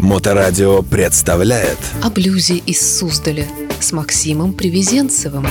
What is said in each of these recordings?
Моторадио представляет О блюзе из Суздаля с Максимом Привезенцевым.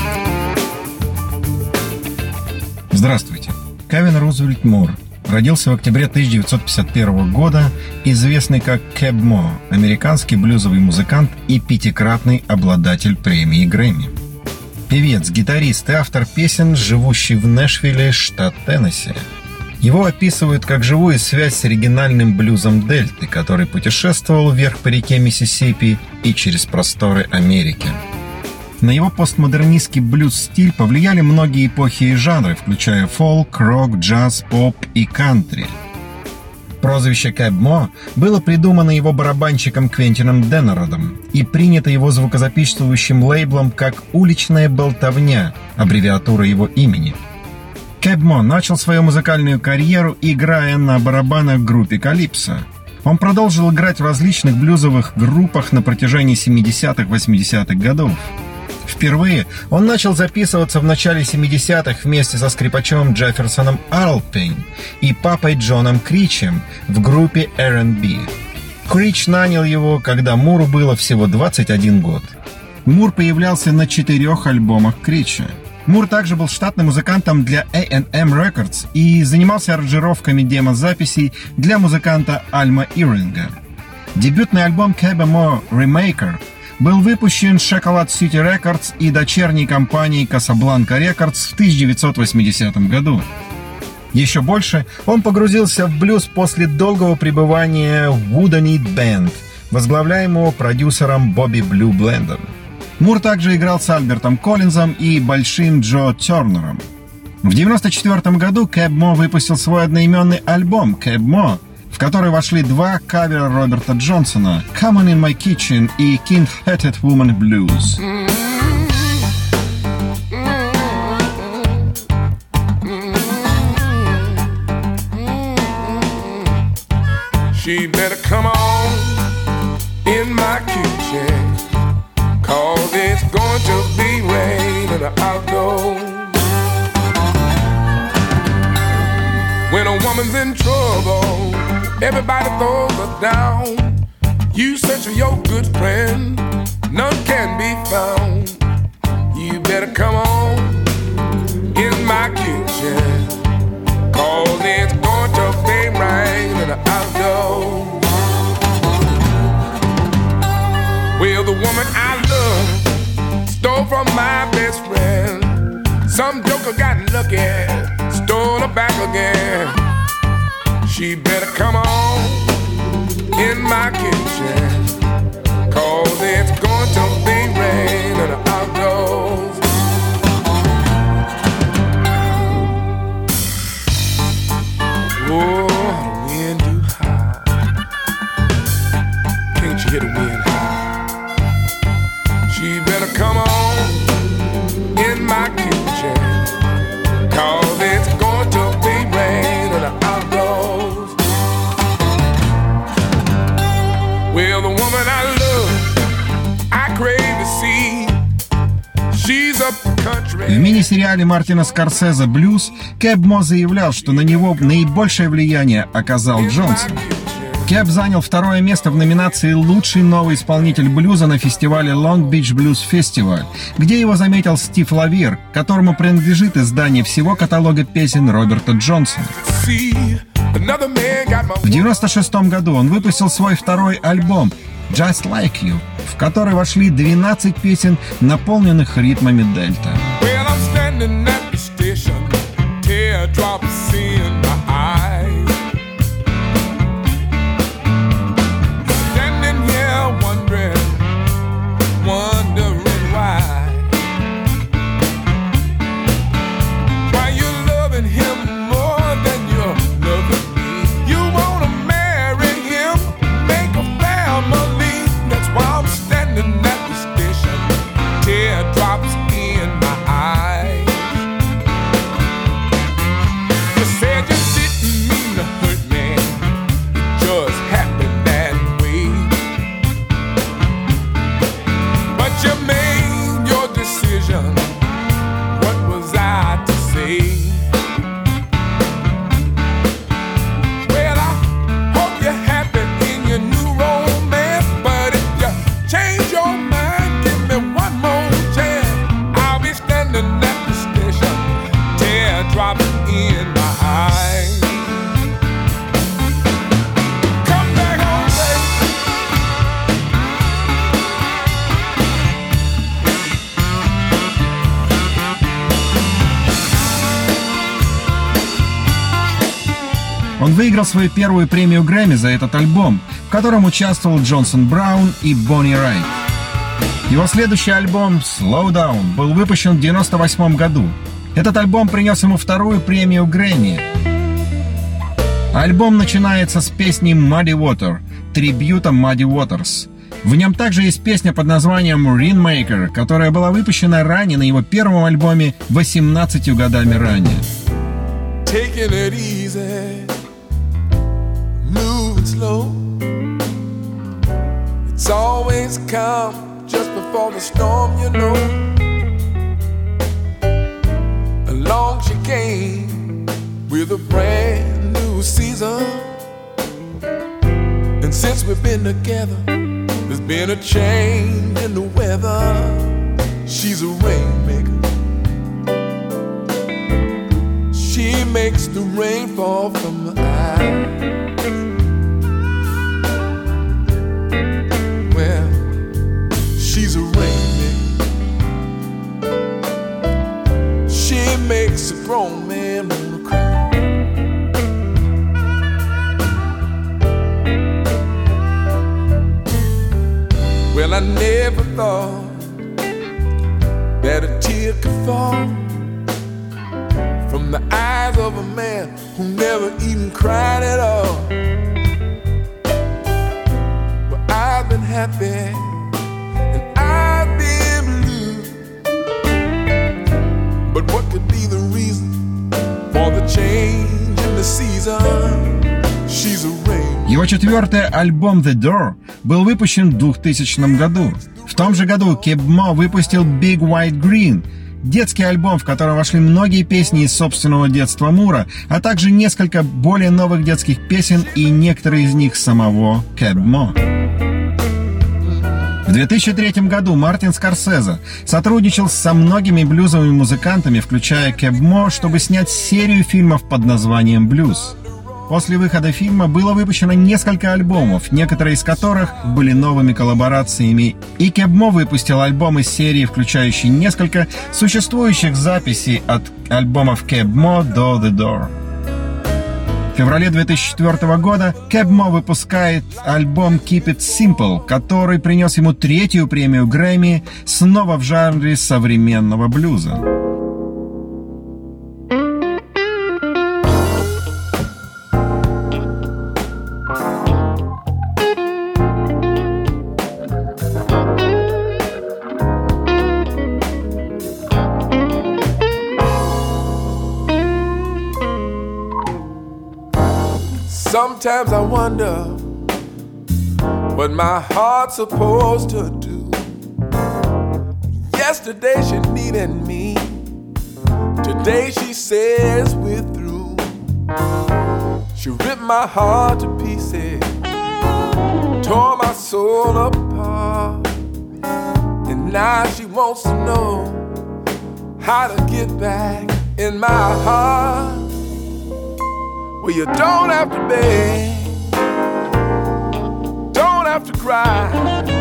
Здравствуйте. Кевин Рузвельт Мур родился в октябре 1951 года, известный как Кэб Мо, американский блюзовый музыкант и пятикратный обладатель премии Грэмми. Певец, гитарист и автор песен, живущий в Нэшвилле, штат Теннесси. Его описывают как живую связь с оригинальным блюзом Дельты, который путешествовал вверх по реке Миссисипи и через просторы Америки. На его постмодернистский блюз-стиль повлияли многие эпохи и жанры, включая фолк, рок, джаз, поп и кантри. Прозвище Кэб Мо было придумано его барабанщиком Квентином Деннеродом и принято его звукозаписывающим лейблом как «Уличная болтовня», аббревиатура его имени. Кэб Мо начал свою музыкальную карьеру, играя на барабанах в группе «Калипсо». Он продолжил играть в различных блюзовых группах на протяжении 70-х-80-х годов. Впервые он начал записываться в начале 70-х вместе со скрипачом Джефферсоном Арлпейн и папой Джоном Кричем в группе R&B. Крич нанял его, когда Муру было всего 21 год. Мур появлялся на 4 альбомах Крича. Мур также был штатным музыкантом для A&M Records и занимался аранжировками демозаписей для музыканта Альма Ирвинга. Дебютный альбом Кэба Мо «Remaker» был выпущен Chocolate City Records и дочерней компанией Casablanca Records в 1980 году. Еще больше он погрузился в блюз после долгого пребывания в Woodenhead Band, возглавляемого продюсером Бобби Блю Блендом. Мур также играл с Альбертом Коллинзом и Большим Джо Тернером. В 1994 году Кэб Мо выпустил свой одноименный альбом «Кэб Мо», в который вошли 2 кавера Роберта Джонсона «Come On In My Kitchen» и «King-Headed Woman Blues». She better come on in my kitchen, 'cause it's going to be raining outdoors. When a woman's in trouble, everybody throws her down. You search for your good friend, none can be found. You better come on in my kitchen, 'cause it's going to be raining outdoors. Well, the woman I love stole from my best friend. Some joker got lucky, stole her back again. She better come on in my kitchen, 'cause it's going to be raining outdoors. Oh, the wind too high. Can't you hear the wind high? She better come on in my kitchen, 'cause it's going to be raining outdoors. Well, the woman I love, I crave to see. She's up country. В мини-сериале Мартина Скорсезе «Блюз» Кэб Мо заявлял, что на него наибольшее влияние оказал Джонсон. Кэб занял 2-е место в номинации «Лучший новый исполнитель блюза» на фестивале Long Beach Blues Festival, где его заметил Стив Лавир, которому принадлежит издание всего каталога песен Роберта Джонсона. В 1996 году он выпустил свой 2-й альбом «Just Like You», в который вошли 12 песен, наполненных ритмами дельта. выиграл свою первую премию Грэмми за этот альбом, в котором участвовал Джонсон Браун и Бонни Райт. Его следующий альбом «Slow Down» был выпущен в 1998 году. Этот альбом принес ему вторую премию Грэмми. Альбом начинается с песни «Muddy Water», трибьюта Muddy Waters. В нем также есть песня под названием «Rainmaker», которая была выпущена ранее на его первом альбоме 18 годами ранее. Taking it easy, moving slow. It's always calm just before the storm, you know. Along she came with a brand new season. And since we've been together, there's been a change in the weather. She's a rainmaker. She makes the rain fall from the eyes. Well, she's a rainmaker. She makes a grown man wanna cry. Well, I never thought that a tear could fall from the eyes of a man who never even cried at all. Well, I've been happy and I've been blue, but what could be the reason for the change in the season? She's a rain. Его четвертый альбом «The Door» был выпущен в 2000 году. В том же году Кэб Мо выпустил «Big White Green», детский альбом, в котором вошли многие песни из собственного детства Мура, а также несколько более новых детских песен и некоторые из них самого Кэб Мо. В 2003 году Мартин Скорсезе сотрудничал со многими блюзовыми музыкантами, включая Кэб Мо, чтобы снять серию фильмов под названием «Блюз». После выхода фильма было выпущено несколько альбомов, некоторые из которых были новыми коллаборациями, и Кэб Мо выпустил альбом из серии, включающий несколько существующих записей от альбомов Кэб Мо до «The Door». В феврале 2004 года Кэб Мо выпускает альбом «Keep It Simple», который принес ему третью премию Грэмми, снова в жанре современного блюза. Sometimes I wonder what my heart's supposed to do. Yesterday she needed me, today she says we're through. She ripped my heart to pieces, tore my soul apart, and now she wants to know how to get back in my heart. Well, you don't have to beg, don't have to cry,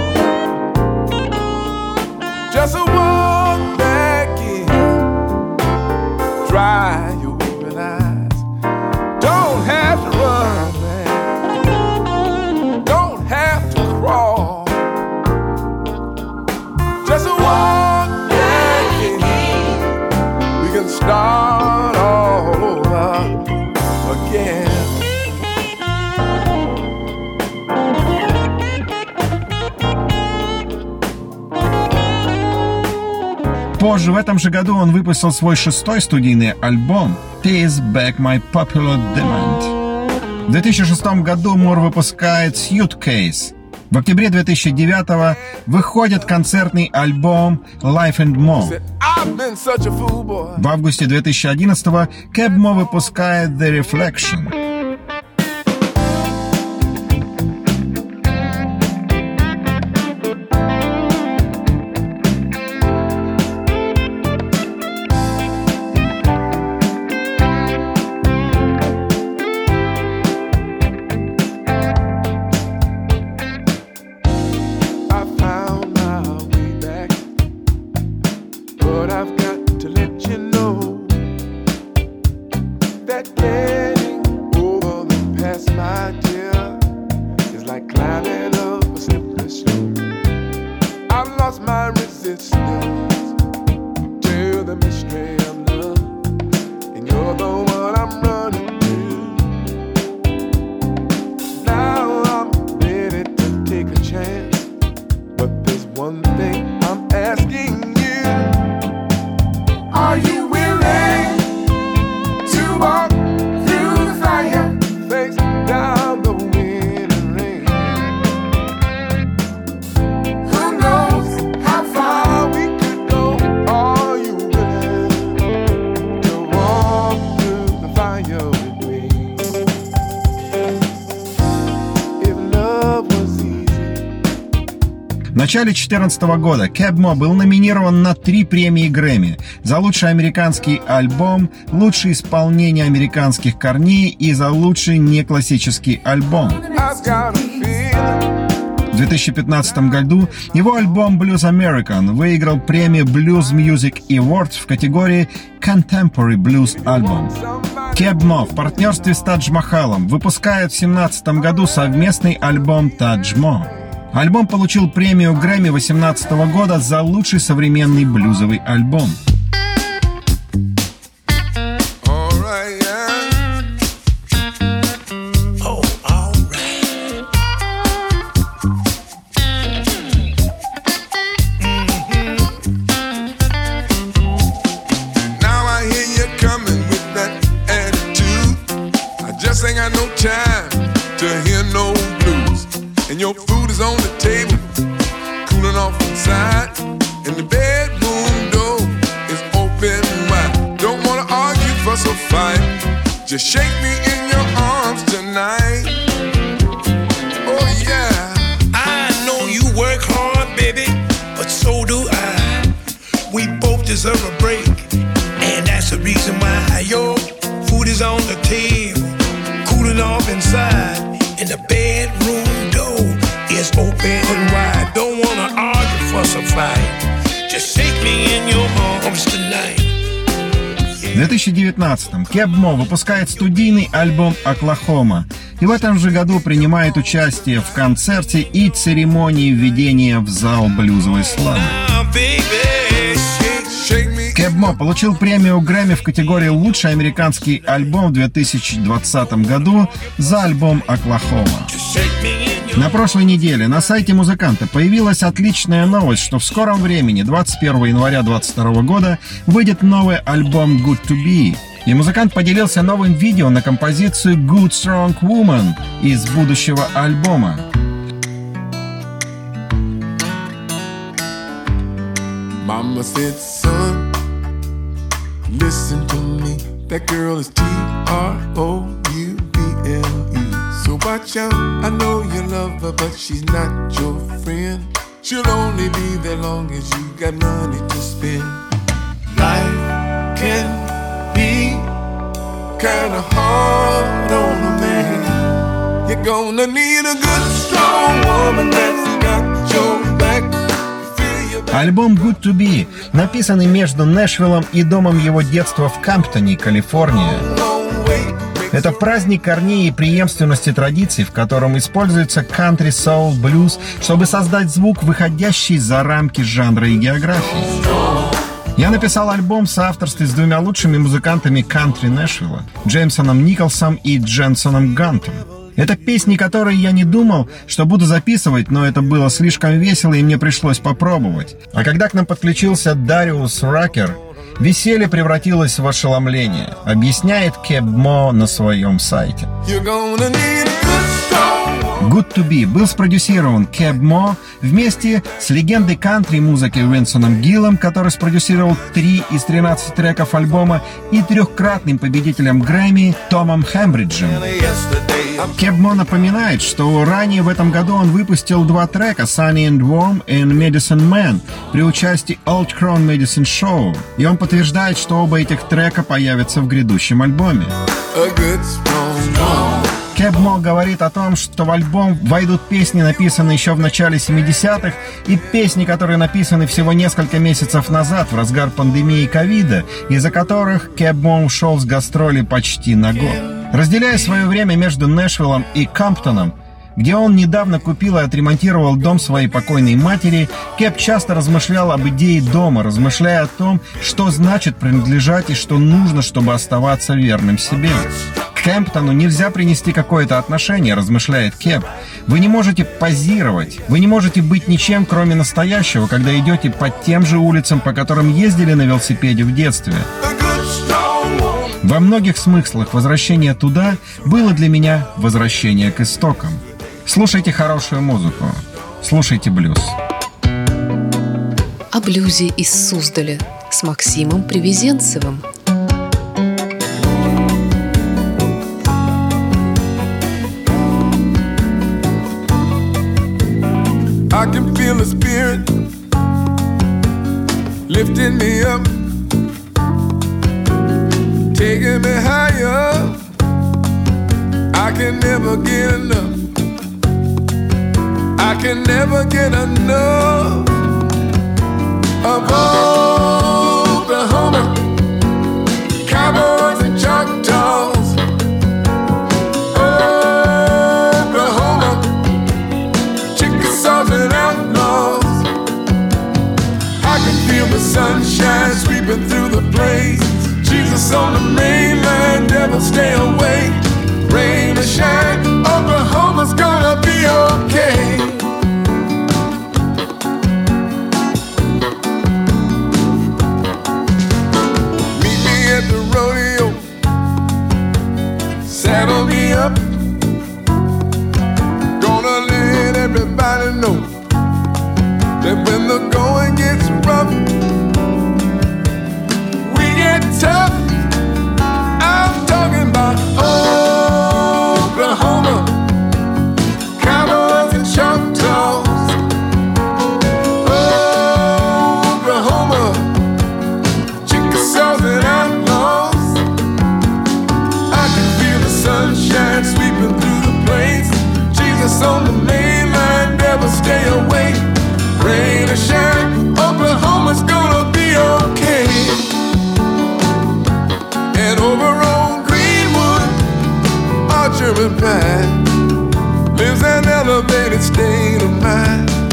just a walk back in, dry your weeping eyes. Don't have to run, man, don't have to crawl, just a walk back in. We can start all over again. Позже, в этом же году, он выпустил свой шестой студийный альбом «Pays Back My Popular Demand». В 2006 году Мур выпускает «Suitcase». В октябре 2009 выходит концертный альбом «Life and More». В августе 2011 Кэб Мо выпускает «The Reflection». I've got to let you know that getting начале 2014 года Keb Mo был номинирован на 3 премии Грэмми за лучший американский альбом, лучшее исполнение американских корней и за лучший неклассический альбом. В 2015 году его альбом Blues American выиграл премию Blues Music Awards в категории Contemporary Blues Album. Keb Mo в партнерстве с Тадж Махалом выпускает в 2017 году совместный альбом Тадж Mo. Альбом получил премию Грэмми 2018 года за лучший современный блюзовый альбом. Ain't got no time to hear no blues, and your food is on the table, cooling off inside, and the bedroom door is open wide. Don't wanna argue, fuss or fight, just shake me in your arms tonight. Oh yeah, I know you work hard, baby, but so do I. We both deserve a break, and that's the reason why your food is on the table, cooling off inside, and the bedroom door is open wide. Don't wanna argue, fuss or fight, just shake me in your arms tonight. В 2019-м Keb Mo выпускает студийный альбом «Оклахома» и в этом же году принимает участие в концерте и церемонии введения в зал блюзовой славы. Keb Mo получил премию Грэмми в категории «Лучший американский альбом» в 2020 году за альбом «Оклахома». На прошлой неделе на сайте музыканта появилась отличная новость, что в скором времени, 21 января 2022 года, выйдет новый альбом «Good to Be». И музыкант поделился новым видео на композицию «Good Strong Woman» из будущего альбома. Mama said, son, listen to me. That girl is T-R-O-U-B-L-E. So watch out, I know you love her, but she's not your friend. She'll only be there long as you got money to spend. Life can be kinda hard on a man. You're gonna need a good, strong woman that's got your back. Альбом «Good to Be» написанный между Нэшвиллом и домом его детства в Камптоне, Калифорния. Это праздник корней и преемственности традиций, в котором используется кантри, соул, блюз, чтобы создать звук, выходящий за рамки жанра и географии. Я написал альбом в соавторстве с 2 лучшими музыкантами кантри Нэшвилла, Джеймсоном Николсом и Дженсоном Гантом. Это песни, которые я не думал, что буду записывать, но это было слишком весело, и мне пришлось попробовать. А когда к нам подключился Дариус Ракер, веселье превратилось в ошеломление, объясняет Keb Mo на своем сайте. Good to Be был спродюсирован Keb Mo вместе с легендой кантри-музыки Винсоном Гиллом, который спродюсировал 3 из 13 треков альбома, и 3-кратным победителем Грэмми Томом Хембриджем. Keb Mo напоминает, что ранее в этом году он выпустил 2 трека «Sunny and Warm» и «Medicine Man» при участии Old Crown Medicine Show, и он подтверждает, что оба этих трека появятся в грядущем альбоме. Keb Mo говорит о том, что в альбом войдут песни, написанные еще в начале 70-х, и песни, которые написаны всего несколько месяцев назад, в разгар пандемии ковида, из-за которых Keb Mo ушел с гастролей почти на год. Разделяя свое время между Нэшвиллом и Камптоном, где он недавно купил и отремонтировал дом своей покойной матери, Keb часто размышлял об идее дома, размышляя о том, что значит принадлежать и что нужно, чтобы оставаться верным себе. К Кэмптону нельзя принести какое-то отношение, размышляет Keb. Вы не можете позировать, вы не можете быть ничем, кроме настоящего, когда идете по тем же улицам, по которым ездили на велосипеде в детстве. Во многих смыслах возвращение туда было для меня возвращение к истокам. Слушайте хорошую музыку, слушайте блюз. О блюзе из Суздаля с Максимом Привезенцевым. I can feel the Spirit lifting me up, taking me higher. I can never get enough. I can never get enough of Oklahoma, cowboys and Choctaws. Oklahoma, Chickasaws and outlaws. I can feel the sunshine sweeping through the place. Jesus on the mainland, never stay away. Rain or shine, Oklahoma's gonna be okay. Meet me at the rodeo, saddle me up. Gonna let everybody know that when the going gets rough, we get tough. I'm talking about Oklahoma, cowboys and Choctaws. Oklahoma, Chickasaws and outlaws. I can feel the sunshine sweeping through the plains. Jesus on the mainland, never stay away. Rain or shine, Oklahoma's gonna be okay. And over on Greenwood, Archer and Pine, lives an elevated state of mind.